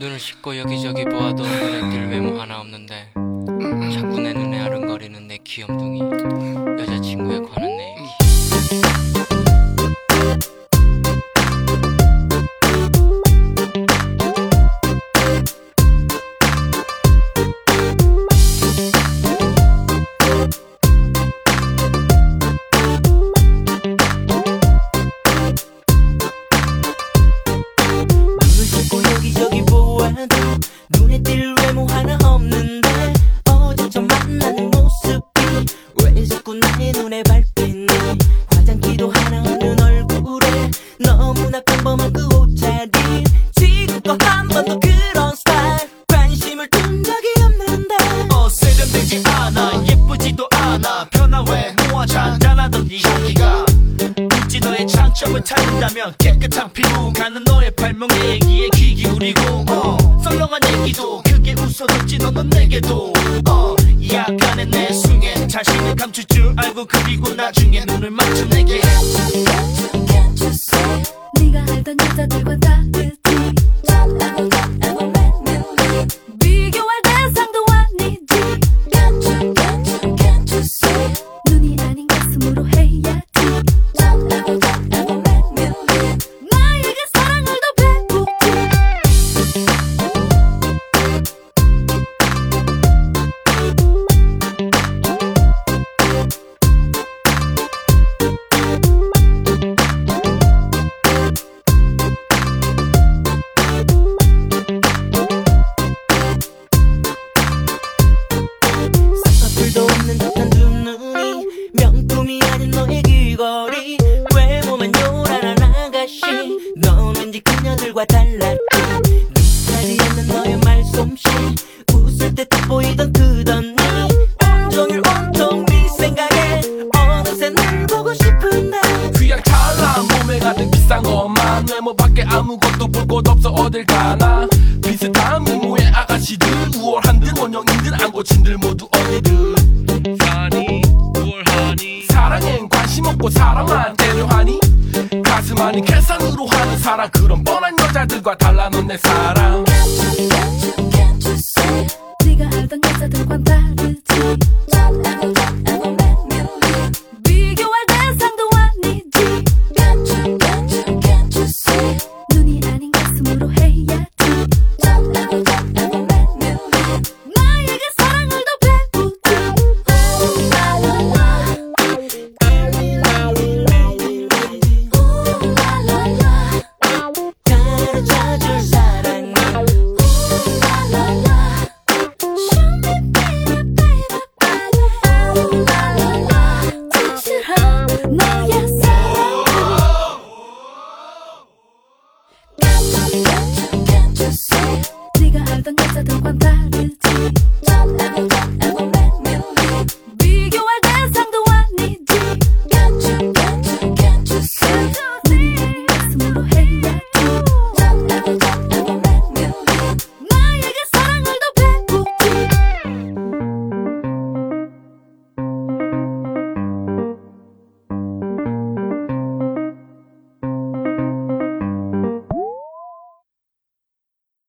눈을 씻고 여기저기 보아도 눈에 띌 외모 하나 없는데 자꾸 내 눈에 아른거리는 내 귀염둥이 여자친구에 관한 내 얘기. 눈에 띌 외모 하나 없는데 어제 처음 만나는 모습이 왜 자꾸 나의 눈에 밟히니. 화장기도 하나 없는 얼굴에 너무나 평범한 그 옷차림. 지금껏 한 번도 그런 스타일 관심을 둔 적이 없는데 세련되지 않아 예쁘지도 않아 변화 외모와 잔잔하던 네 향기가 굳이 너의 장점을 찾는다면 깨끗한 피부 가는 너의 발명의 얘기에 귀 기울이고 썰렁한 얘기도 크게 웃어줬지 너는 내게도 약간의 내숭에 자신을 감출 줄 알고 그리고 나중에 눈을 맞춰 내게 Can't you see 네가 알던 여자들과 다르지. 비교할 대상도 아니지. Can't you see 눈이 아닌 가슴으로 해야지. 나에게 사랑을 더 배우지. 쌍꺼풀도 없는 듯한 두 눈이 명품이 아닌 너의 귀걸이 외모만 요란한 아가씨 넌 왠지 그녀들과 달랐지. 네 스타일이 없는 너의 말솜씨 웃을 때 딱 보이던 그던 니 온종일 온통 네 생각에 어느새 널 보고 싶은데 휘황찬란 몸에 가득 비싼 것만 외모밖에 아무것도 볼 곳 없어 어딜 가나. 비슷한 미모의 아가씨들 우월한들 원형인들 안 고친들 모두 어디든 사니 우월하니 사랑엔 관심 없고 사랑만 때려하니 가슴 아닌 계산으로 하는 사랑 그런 뻔한 여자들과 달라 넌 내 사랑. Can't you see 네가 알던 여자들과 다르지. 비교할 대상도 아니지. Can't you see 눈이 아닌 가슴으로 해야지. 나에게 사랑을 더 배우지. 가르쳐줄 사랑이 진실한 너의